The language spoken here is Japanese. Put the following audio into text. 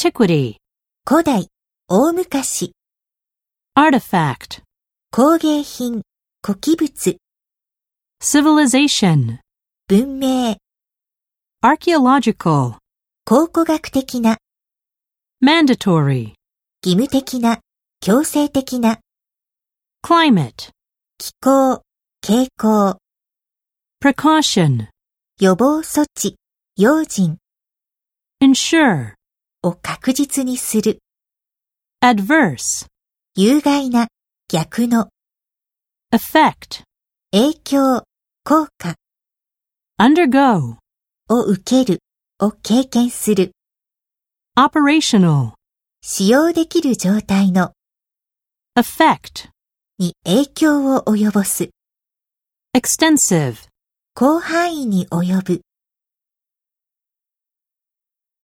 antiquity, 古代、大昔、 artifact, 工芸品、古器物、 civilization, 文明、 archaeological, 考古学的な、 mandatory, 義務的な、強制的な、 climate, 気候、傾向、 precaution, 予防措置、用心 ensure, を確実にする、 adverse, 有害な、逆の、 effect, 影響、効果 undergo, を受ける、を経験する、 operational, 使用できる状態の、 effect, に影響を及ぼす、 extensive, 広範囲に及ぶ。